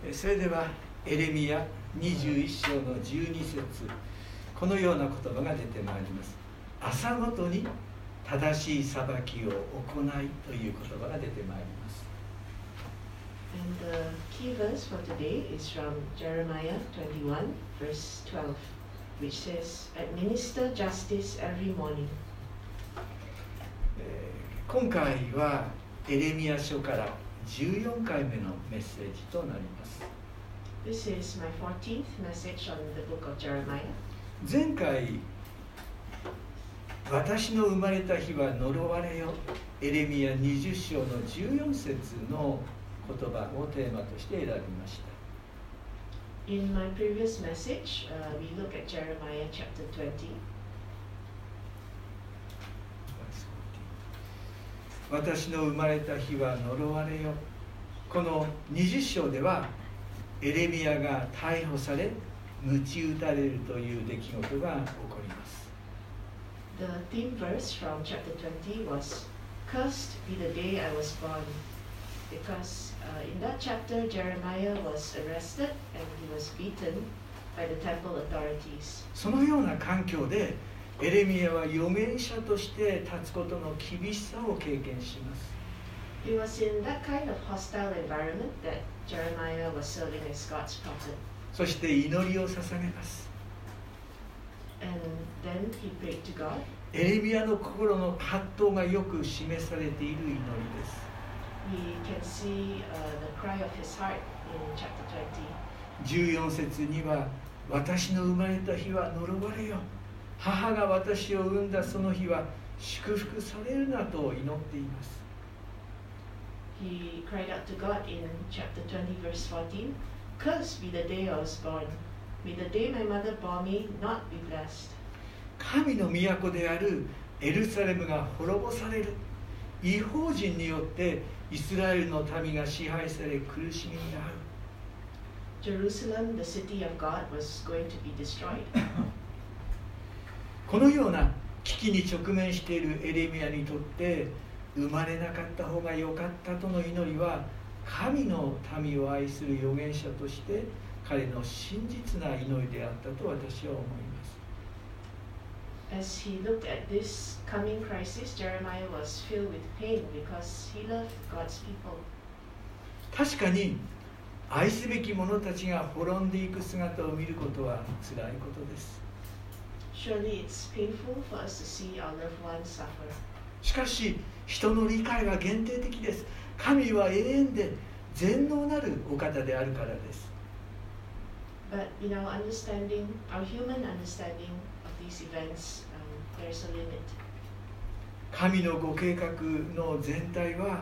それではエレミヤ21章の12節、このような言葉が出てまいります。朝ごとに正しい裁きを行いという言葉が出てまいります。 And the key verse for today is from Jeremiah 21 verse 12, which says, Administer justice every morning. 今回はエレミヤ書から14回目のメッセージとなります。 This is my 14th message on the book of Jeremiah. 前回、私の生まれた日は呪われよ、エレミヤ20章の14節の言葉をテーマとして選びました。 In my previous message, we look at Jeremiah chapter 20. 私の生まれた日は呪われよ。この20章ではエレミヤが逮捕され鞭打たれるという出来事が起こります。 The theme verse from chapter 20 was, Cursed be the day I was born, because in that chapter Jeremiah was arrested and he was beaten by the temple authorities. そのような環境でエレミヤは預言者として立つことの厳しさを経験します。 It was in that kind of hostile environment that Jeremiah was serving as God's prophet. そして祈りを捧げます。 And then he prayed to God. エレミヤの心の葛藤がよく示されている祈りです。 We can see the cry of his heart in chapter 20. 14節には、私の生まれた日は呪われよ。母が私を産んだその日は祝福されるなと祈っています。 He cried out to God in chapter 20 verse 14, Cursed be the day I was born. May the day my mother bore me not be blessed. 神の都であるエルサレムが滅ぼされる。異邦人によってイスラエルの民が支配され苦しみに遭う。 Jerusalem, the city of God, was going to be destroyed. このような危機に直面しているエレミヤにとって生まれなかった方が良かったとの祈りは神の民を愛する預言者として彼の真実な祈りであったと私は思います。 As he looked at this coming crisis, Jeremiah was filled with pain because he loved God's people. 確かに愛すべき者たちが滅んでいく姿を見ることは辛いことです。 Surely it's painful for us to see our loved ones suffer. しかし人の理解は限定的です。神は永遠で全能なるお方であるからです。 But in our understanding, our human understanding of these events, there's a limit. 神のご計画の全体は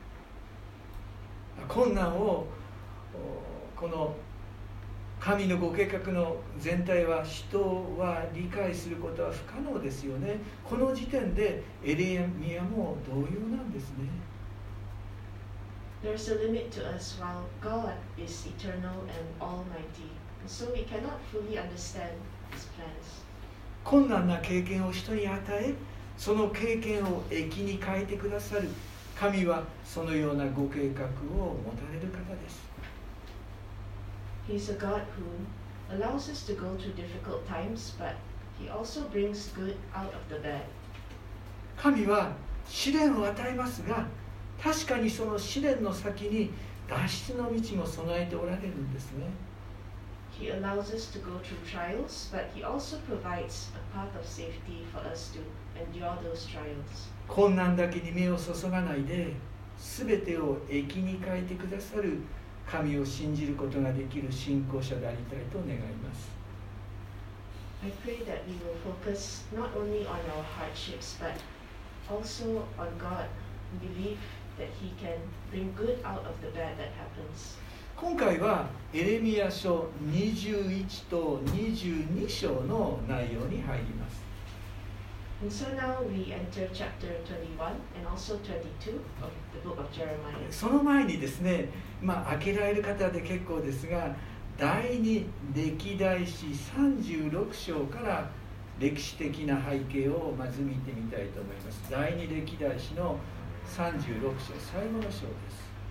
困難をこの神のご計画の全体は人は理解することは不可能ですよね。この時点でエレミヤも同様なんですね。 There's a limit to us while God is eternal and almighty, and so we cannot fully understand His plans. 困難な経験を人に与え、その経験を益に変えてくださる神はそのようなご計画を持たれる方です。 He's a God who allows us to go through difficult times, but He also brings good out of the bad. 神は試練を与えますが、確かにその試練の先に脱出の道も備えておられるんですね。 He allows us to go through trials, but He also provides a path of safety for us to endure those trials. 困難だけに目を注がないで、すべてを益に変えてくださる神を信じることができる信仰者でありたいと願います。 I pray that we will focus not only on our hardships, but also on God and believe that He can bring good out of the bad that happens. 今回はエレミヤ書21と22章の内容に入ります。 And so now we enter chapter 21 and also 22 of the book of Jeremiah. その前にですね、開けられる方で結構ですが、第二歴代史36章から歴史的な背景をまず見てみたいと思います。第二歴代史の36章、最後の章です。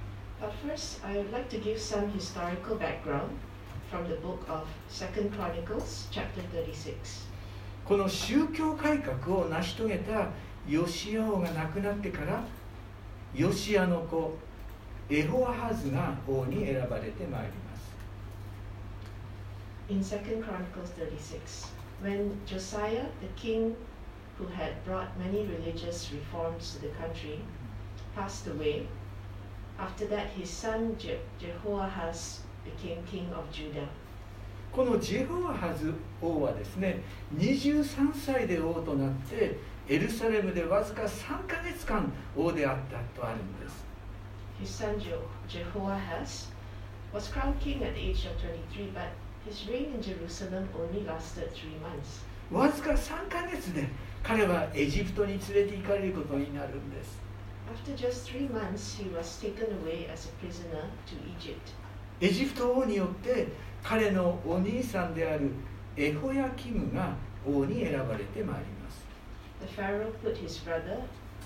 But first, I would like to give some historical background from the book of 2 Chronicles, chapter 36. この宗教改革を成し遂げたヨシア王が亡くなってから、ヨシアの子エホアハズが王に選ばれてまいります。 In 2 Chronicles 36, when Josiah, the king who had brought many religious reforms to the country, passed away, after that his son Jehoahaz became king of Judah. このジェホアハズ王はですね、23歳で王となってエルサレムでわずか3ヶ月間王であったとあるんです。 His son Jehoahaz was crowned king at the age of 23, but his reign in Jerusalem only lasted 3 months. わずか3ヶ月で彼はエジプトに連れて行かれることになるんです。 After just 3 months, he was taken away as a prisoner to Egypt. エジプト王によって彼のお兄さんであるエホヤキムが王に選ばれてまいります。 The Pharaoh put his brother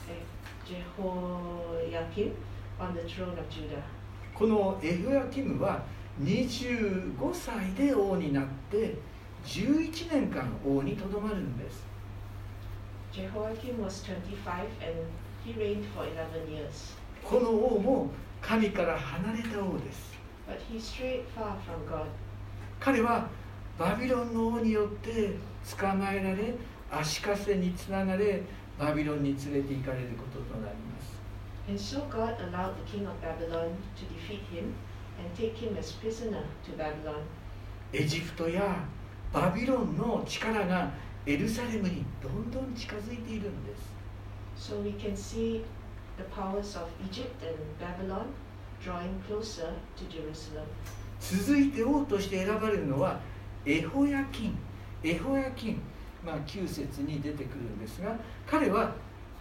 Jehoiakim on the throne of Judah. このエホヤキムは25歳で王になって11年間王にとどまるんです。 Jehoiakim was 25 and he reigned for 11 years. この王も神から離れた王です。 But he strayed far from God. 彼はバビロンの王によって捕まえられ、足かせにつながれ、バビロンに連れて行かれることとなります。 And so God allowed the king of Babylon to defeat him and take him as prisoner to Babylon. エジプトやバビロンの力がエルサレムにどんどん近づいているんです。 So we can see the powers of Egypt and Babylon drawing closer to Jerusalem. 続いて王として選ばれるのはエホヤキン。エホヤキン、9節に出てくるんですが、彼は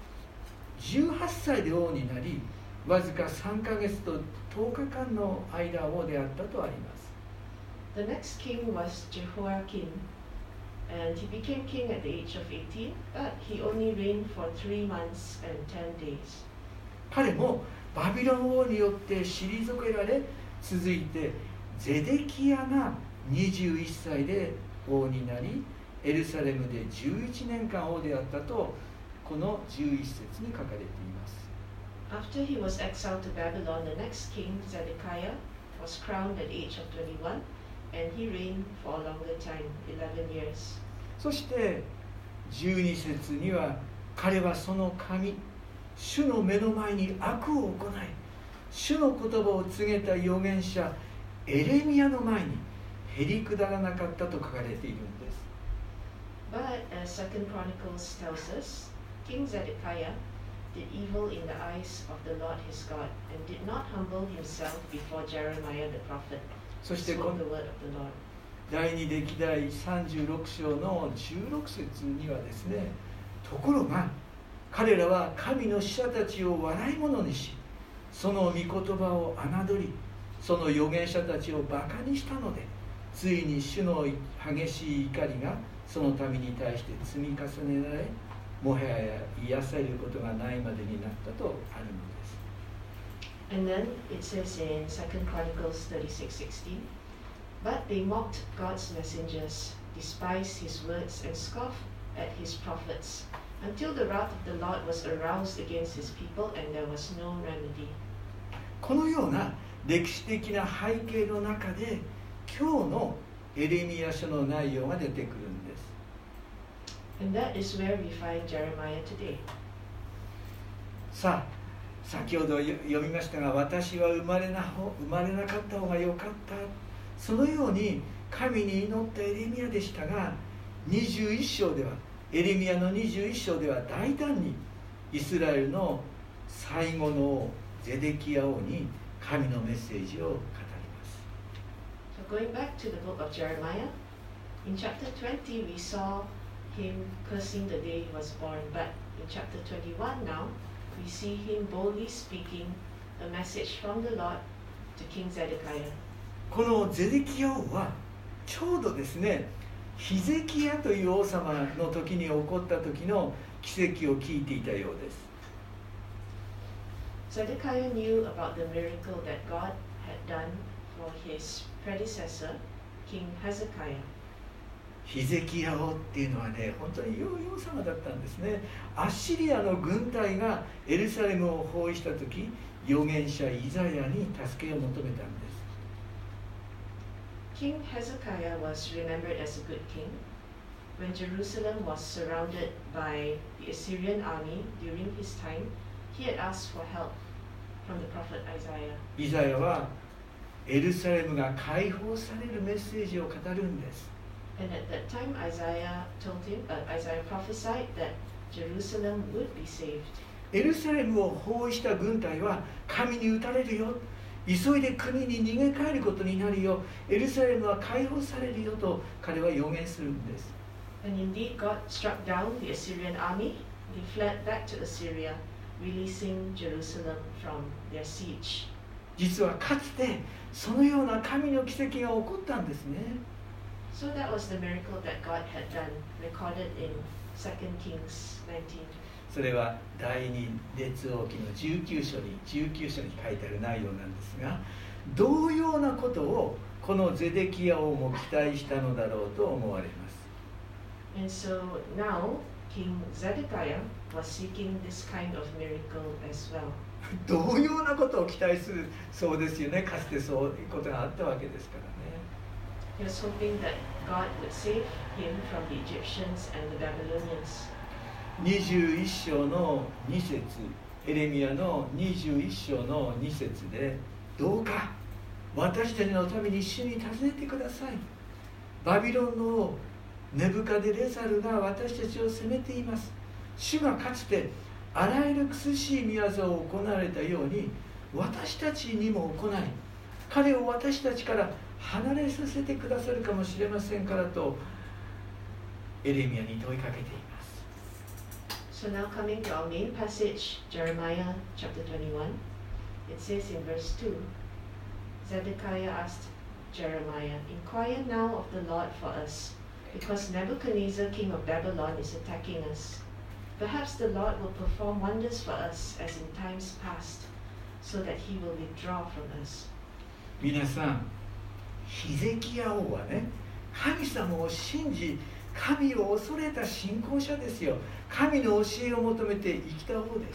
18歳で王になり、わずか3ヶ月と10日間の間王であったとあります。 The next king was Jehoiakim, and he became king at the age of 18, but he only reigned for 3 months and 10 days. 彼もバビロン王によって退けられ、続いてゼデキヤが21歳で王になり、エルサレムで11年間王であったとこの11節に書かれています。 After he was exiled to Babylon, the next king, Zedekiah, was crowned at the age of 21, and he reigned for a longer time, 11 years. そして12節には、彼はその神、主の目の前に悪を行い、主の言葉を告げた預言者エレミヤの前にへりくだらなかったと書かれているんです。 But as 2 Chronicles tells us, King Zedekiah did evil in the eyes of the Lord his God, and did not humble himself before Jeremiah the prophet. そしてこ spoke の the word of the Lord. 第二歴代36章の16節にはですね、ところが彼らは神の使者たちを笑い者にし、その御言葉を侮り、その預言者たちをバカにしたので、ついに主の激しい怒りがその民に対して積み重ねられ、もはや癒されることがないまでになったとあるのです。 And then it says in 2 Chronicles 36:16, but they mocked God's messengers, despised his words, and scoffed at his prophets, until the wrath of the Lord was aroused against his people, and there was no remedy. このような歴史的な背景の中で、今日のエレミヤ書の内容が出てくるんです。 And that is where we find Jeremiah today. さあ、先ほど読みましたが、私は生まれなかった方が良かった。そのように神に祈ったエレミヤでしたが、21章では、エレミヤの21章では大胆にイスラエルの最後の王ゼデキヤ王に神のメッセージを語ります。 So going back to the book of Jeremiah, in chapter 20 we saw him cursing the day he was born, but in chapter 21 now, we see him boldly speaking a message from the Lord to King Zedekiah. このゼデキヤ王はちょうどですね、ヒゼキヤという王様の時に起こった時の奇跡を聞いていたようです。 Zedekiah knew about the miracle that God had done for his predecessor, King Hezekiah. ヒゼキヤ王っていうのはね、本当に王様だったんですね。アッシリアの軍隊がエルサレムを包囲した時、預言者イザヤに助けを求めたんです。 King Hezekiah was remembered as a good king. When Jerusalem was surrounded by the Assyrian army during his time, he had asked for help from the prophet Isaiah. イザヤはエルサレムが解放されるメッセージを語るんです。 And at that time, Isaiah prophesied that Jerusalem would be saved. エルサレムを包囲した軍隊は神に撃たれるよ、急いで国に逃げ帰ることになるよ、エルサレムは解放されるよと彼は予言するんです。 And indeed, God struck down the Assyrian army. They fled back to Assyria, releasing Jerusalem from their siege. 実はかつてそのような神の奇跡が起こったんですね。 So that was the miracle that God had done, recorded in 2 Kings 19. それは第二列王記の19章に書いてある内容なんですが、同様なことをこのゼデキヤ王も期待したのだろうと思われます。 And so now King Zedekiah was seeking this kind of miracle as well. 同様なことを期待するそうですよね。かつてそういうことがあったわけですからね。 He was hoping that God would save him from the Egyptians and the Babylonians. 21章の2節、エレミヤの21章の2節で、どうか私たちのために主に尋ねてください。バビロンの王ネブカデレザルが私たちを責めています。主がかつてあらゆる苦しい御業を行われたように私たちにも行い、彼を私たちから離れさせてくださるかもしれませんからとエレミヤに問いかけています。 So now coming to our main passage, Jeremiah chapter 21, it says in verse 2, Zedekiah asked Jeremiah, "Inquire now of the Lord for us, because Nebuchadnezzar, king of Babylon, is attacking us. Perhaps the Lord will perform wonders for us as in times past, so that he will withdraw from us." 皆さん、ヒゼキヤ王はね、神様を信じ、神を恐れた信仰者ですよ。神の教えを求めて生きた王です。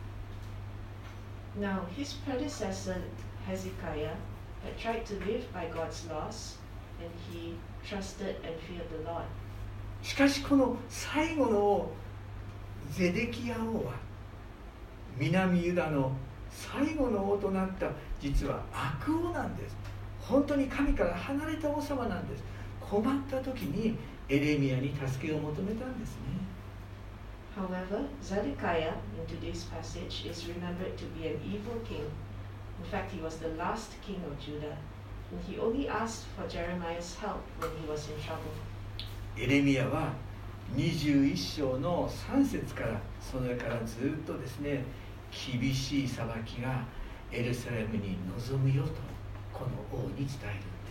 Now, his predecessor Hezekiah had tried to live by God's laws, and he trusted and feared the Lord. しかしこの最後の王ゼデキヤ王は南ユダの最後の王となった実は悪王なんです。本当に神から離れた王様なんです。困った時にエレミヤに助けを求めたんですね。 However, Zedekiah in today's passage is remembered to be an evil king. In fact, he was the last king of Judah, and he only asked for Jeremiah's help when he was in trouble. エレミヤは21章の3節からそれからずっとですね、厳しい裁きがエルサレムに臨むよとこの王に伝えるんです。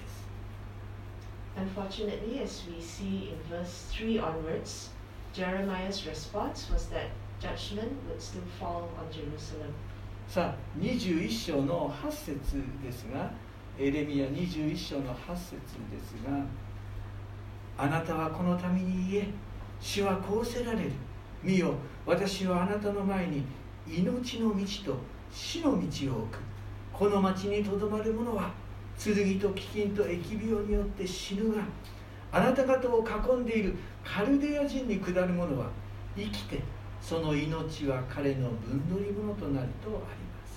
Unfortunately, as we see in verse 3 onwards, Jeremiah's response was that judgment would still fall on Jerusalem. さあ、21章の8節ですが、エレミヤ21章の8節ですが、あなたはこの民に言え、主はこうせられる。見よ、私はあなたの前に命の道と死の道を置く。この町にとどまる者は剣と飢饉と疫病によって死ぬが、あなた方を囲んでいるカルデア人に下る者は生きて、その命は彼の分取り物となるとあります。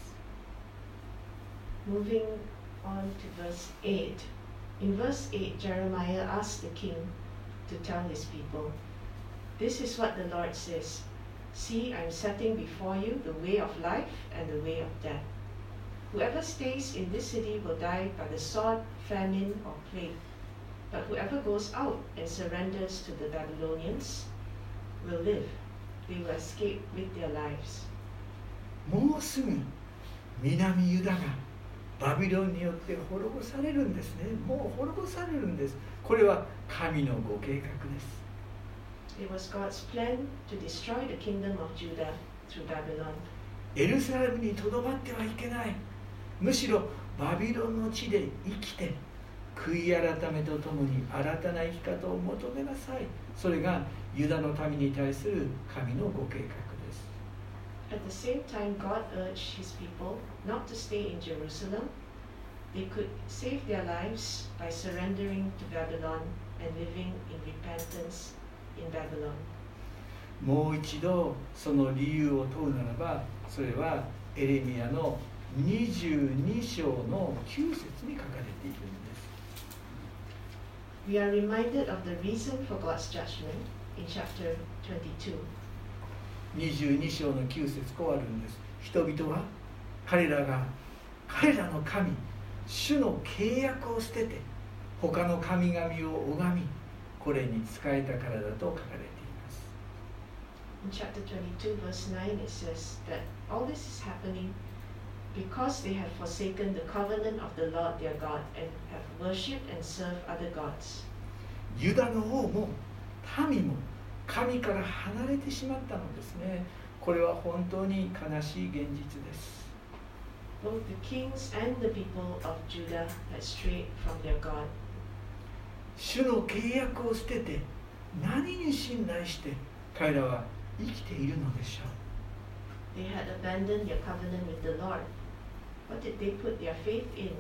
Moving on to verse 8. In verse 8, Jeremiah asked the king to tell his people, "This is what the Lord says. See, I am setting before you the way of life and the way of death. Whoever stays in this city will die by the sword, famine, or plague. But whoever goes out and surrenders to the Babylonians will live. They will escape with their lives." もうすぐ南ユダがバビロンによって滅ぼされるんですね。もう滅ぼされるんです。これは神のご計画です。 It was God's plan to destroy the kingdom of Judah through Babylon. エルサレムにとどまってはいけない。むしろバビロンの地で生きて悔い改めとともに新たな生き方を求めなさい。それがユダの民に対する神のご計画です。 At the same time, God urged his people not to stay in Jerusalem. They could save their lives by surrendering to Babylon and living in repentance in Babylon. もう一度その理由を問うならば、それはエレミヤの22章の9節に書かれているんです。 We are reminded of the reason for God's judgment in chapter 22. 22章の9節こうあるんです。人々は彼らの神、主の契約を捨てて他の神々を拝み、これに仕えたからだと書かれています。 In chapter 22, verse 9, it says that all this is happening because they have forsaken the covenant of the Lord their God and have worshipped and served other gods. ユダの王も民も神から離れてしまったのですね。これは本当に悲しい現実です。 Both the kings and the people of Judah had strayed from their God. 主の契約を捨てて何に信頼して彼らは生きているのでしょう。 They had abandoned their covenant with the Lord. What did they put their faith in?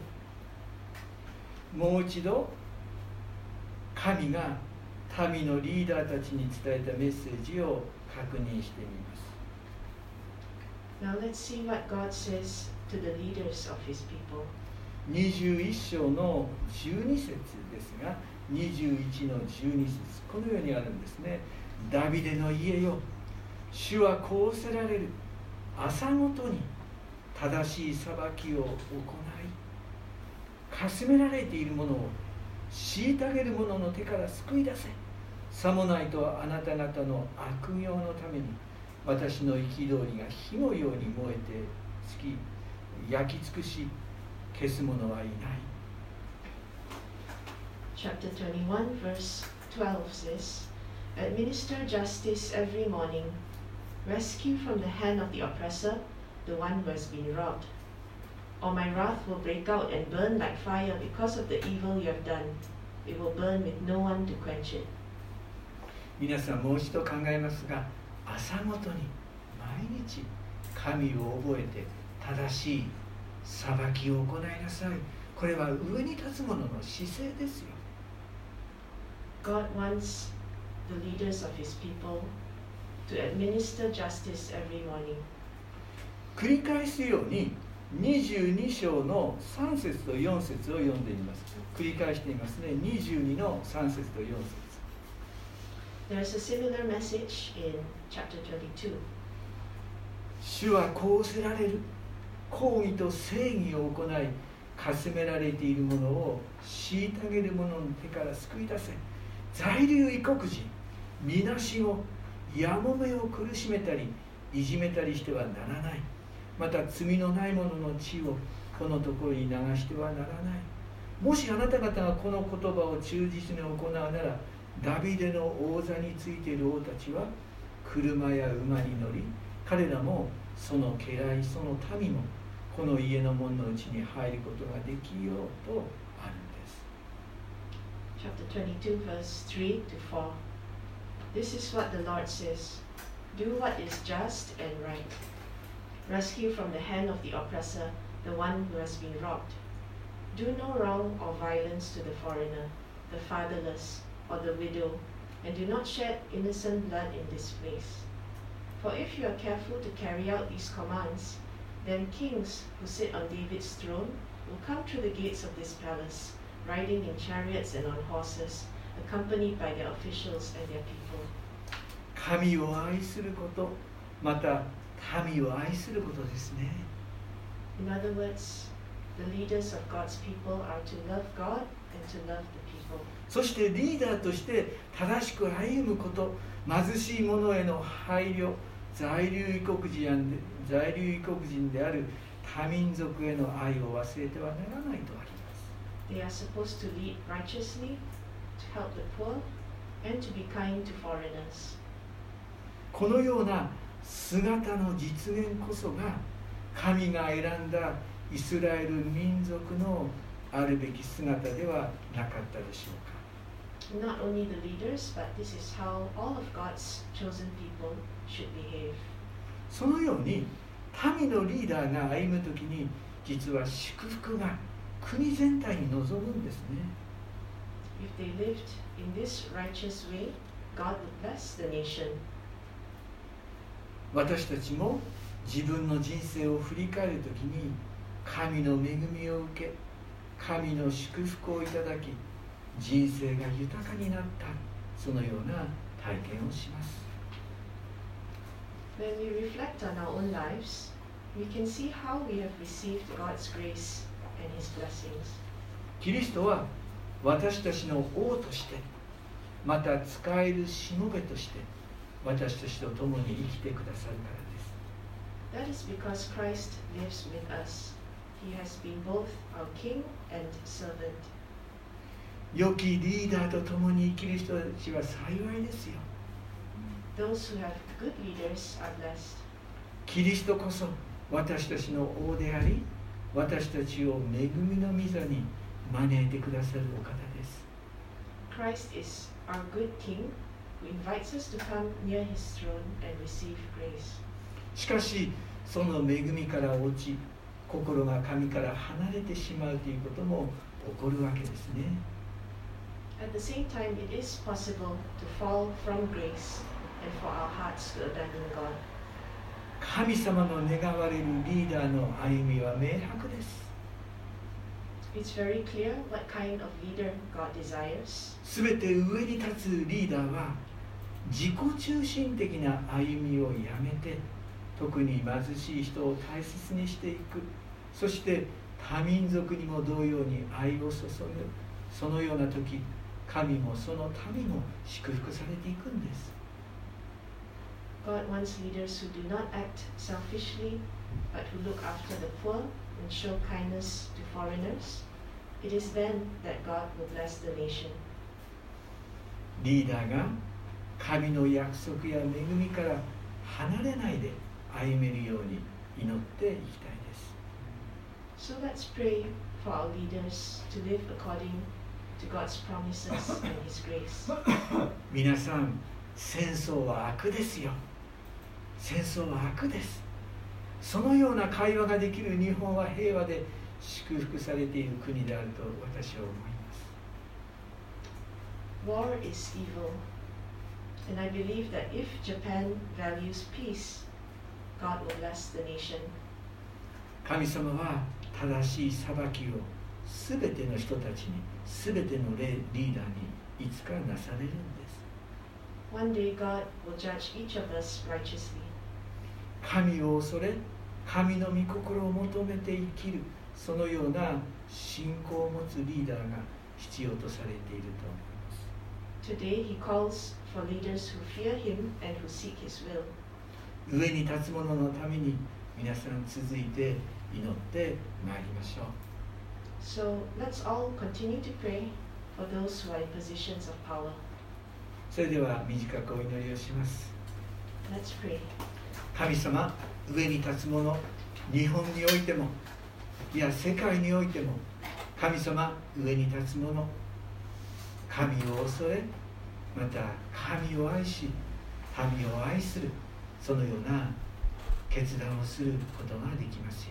もう一度神が民のリーダーたちに伝えたメッセージを確認してみます。 Now let's see what God says to the leaders of his people. 21章の12節ですが、21の12節このようにあるんですね。ダビデの家よ、主はこうせられる。朝ごとに正しい裁きを行い、かすめられているものを虐げる者の手から救い出せ。さもないとあなた方の悪行のために私の憤りが火のように燃えて焼き尽くし消す者はいない。 Chapter 21, verse 12 says, Administer justice every morning. Rescue from the hand of the oppressor the one who has been robbed. Or my wrath will break out and burn like fire because of the evil you have done. It will burn with no one to quench it. 皆さんもう一度考えますが、朝ごとに毎日神を覚えて正しい裁きを行いなさい。これは上に立つ者の姿勢ですよ。 God wants the leaders of his people to administer justice every morning. 繰り返すように22章の3節と4節を読んでいます。繰り返していますね。22の3節と4節。 There's a similar message in chapter 22. 主はこうせられる。公義と正義を行い、かすめられているものを虐げる者の手から救い出せ。在留異国人、みなしご、やもめを苦しめたりいじめたりしてはならない。また罪のない者の血をこのところに流してはならない。もしあなた方がこの言葉を忠実に行うなら、ダビデの王座についている王たちは車や馬に乗り、彼らもその家来その民もこの家の門のうちに入ることができようとあるんです。 Chapter 22, verse 3 to 4. This is what the Lord says. Do what is just and right. Rescue from the hand of the oppressor the one who has been robbed. Do no wrong or violence to the foreigner, the fatherless, or the widow, and do not shed innocent blood in this place. For if you are careful to carry out these commands, then kings who sit on David's throne will come through the gates of this palace, riding in chariots and on horses, accompanied by their officials and their people. 神を愛すること、また民を愛することですね。 In other words, the leaders of God's people are to love God and to love the people. そしてリーダーとして正しく歩むこと、貧しい者への配慮、在留異国人である多民族への愛を忘れてはならないとあります。 They are supposed to lead righteously, to help the poor, and to be kind to foreigners. このような姿の実現こそが神が選んだイスラエル民族のあるべき姿ではなかったでしょうか。 Not only the leaders, but this is how all of God's chosen people should behave. そのように民のリーダーが歩むときに、実は祝福が国全体に望むんですね。 If they lived in this righteous way, God would bless the nation. 私たちも自分の人生を振り返るときに、神の恵みを受け、神の祝福をいただき、人生が豊かになった、そのような体験をします。 When we reflect on our own lives, we can see how we have received God's grace and His blessings. キリストは私たちの王として、また使えるしもべとして、私たちと共に生きてくださるからです。 That is because Christ lives with us. He has been both our King and servant. 良きリーダーと共に生きる人たちは幸いですよ。 Those who have good leaders are blessed. キリストこそ私たちの王であり、私たちを恵みの御座に招いてくださるお方です。 Christ is our good King who invites us to come near His throne and receive grace. しかし、その恵みから落ち、心が神から離れてしまうということも起こるわけですね。 At the same time, it is possible to fall from grace and for our hearts to abandon God. 神様の願われるリーダーの歩みは明白です。 It's very clear what kind of leader God desires. すべて上に立つリーダーは自己中心的な歩みをやめて、特に貧しい人を大切にしていく、そして他民族にも同様に愛を注ぐ、そのような時、神もその民も祝福されていくんです。 God wants leaders who do not act selfishly, but who look after the poor and show kindness to foreigners. It is then that God will bless the nation. リーダーが神の約束や恵みから離れないで歩めるように祈っていきたいです。 So let's pray for our leaders to live according to God's promises and His grace. 皆さん、戦争は悪ですよ。戦争は悪です。そのような会話ができる日本は平和で祝福されている国であると私は思います。 War is evil, and I believe that if Japan values peace, God will bless the nation. 神様は正しい裁きをすべての人たちに、すべてのリーダーにいつかなされるんです。 One day God will judge each of us righteously. 神を恐れ、神の御心を求めて生きる、そのような信仰を持つリーダーが必要とされていると思います。 Today He calls for leaders who fear Him and who seek His will. 上に立つ者のために皆さん続いて祈ってまいりましょう。 So let's all continue to pray for those who are in positions of power. それでは短くお祈りをします。 Let's pray. 神様、上に立つ者、日本においても、いや世界においても、神様、上に立つ者、神を恐れ、また神を愛し、民を愛する、そのような決断をすることができますよ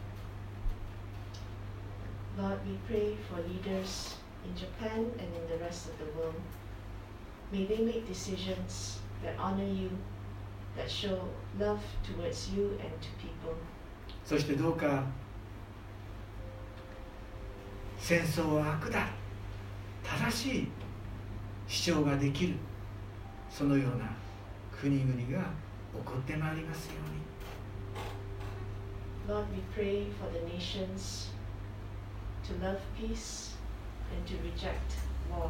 うに。 Lord, we pray for leaders in Japan and in the rest of the world. May they make decisions that honor you, that show love towards you and to people. そしてどうか戦争は悪だ、正しい主張ができる、そのような国々が起こってまいりますように。 Lord, we pray for the nations to love peace and to reject war.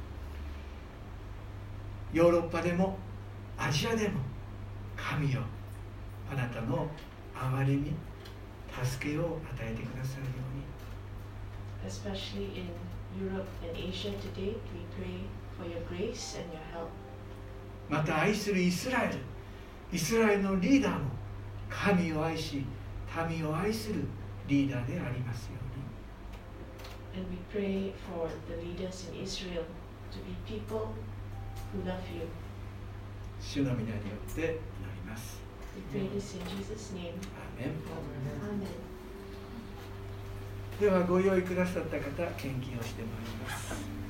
ヨーロッパでもアジアでも神よ、あなたの憐れみ、助けを与えてくださるように。 Especially in Europe and Asia today, we pray for your grace and your help. また愛するイスラエル、 イスラエルのリーダーも神を愛し民を愛するリーダーでありますように。 And we pray for the leaders in Israel to be people who love you. 主の皆によって祈ります。 We pray this in Jesus' name. アーメン。 Amen. ではご用意くださった方、献金をしてまいります。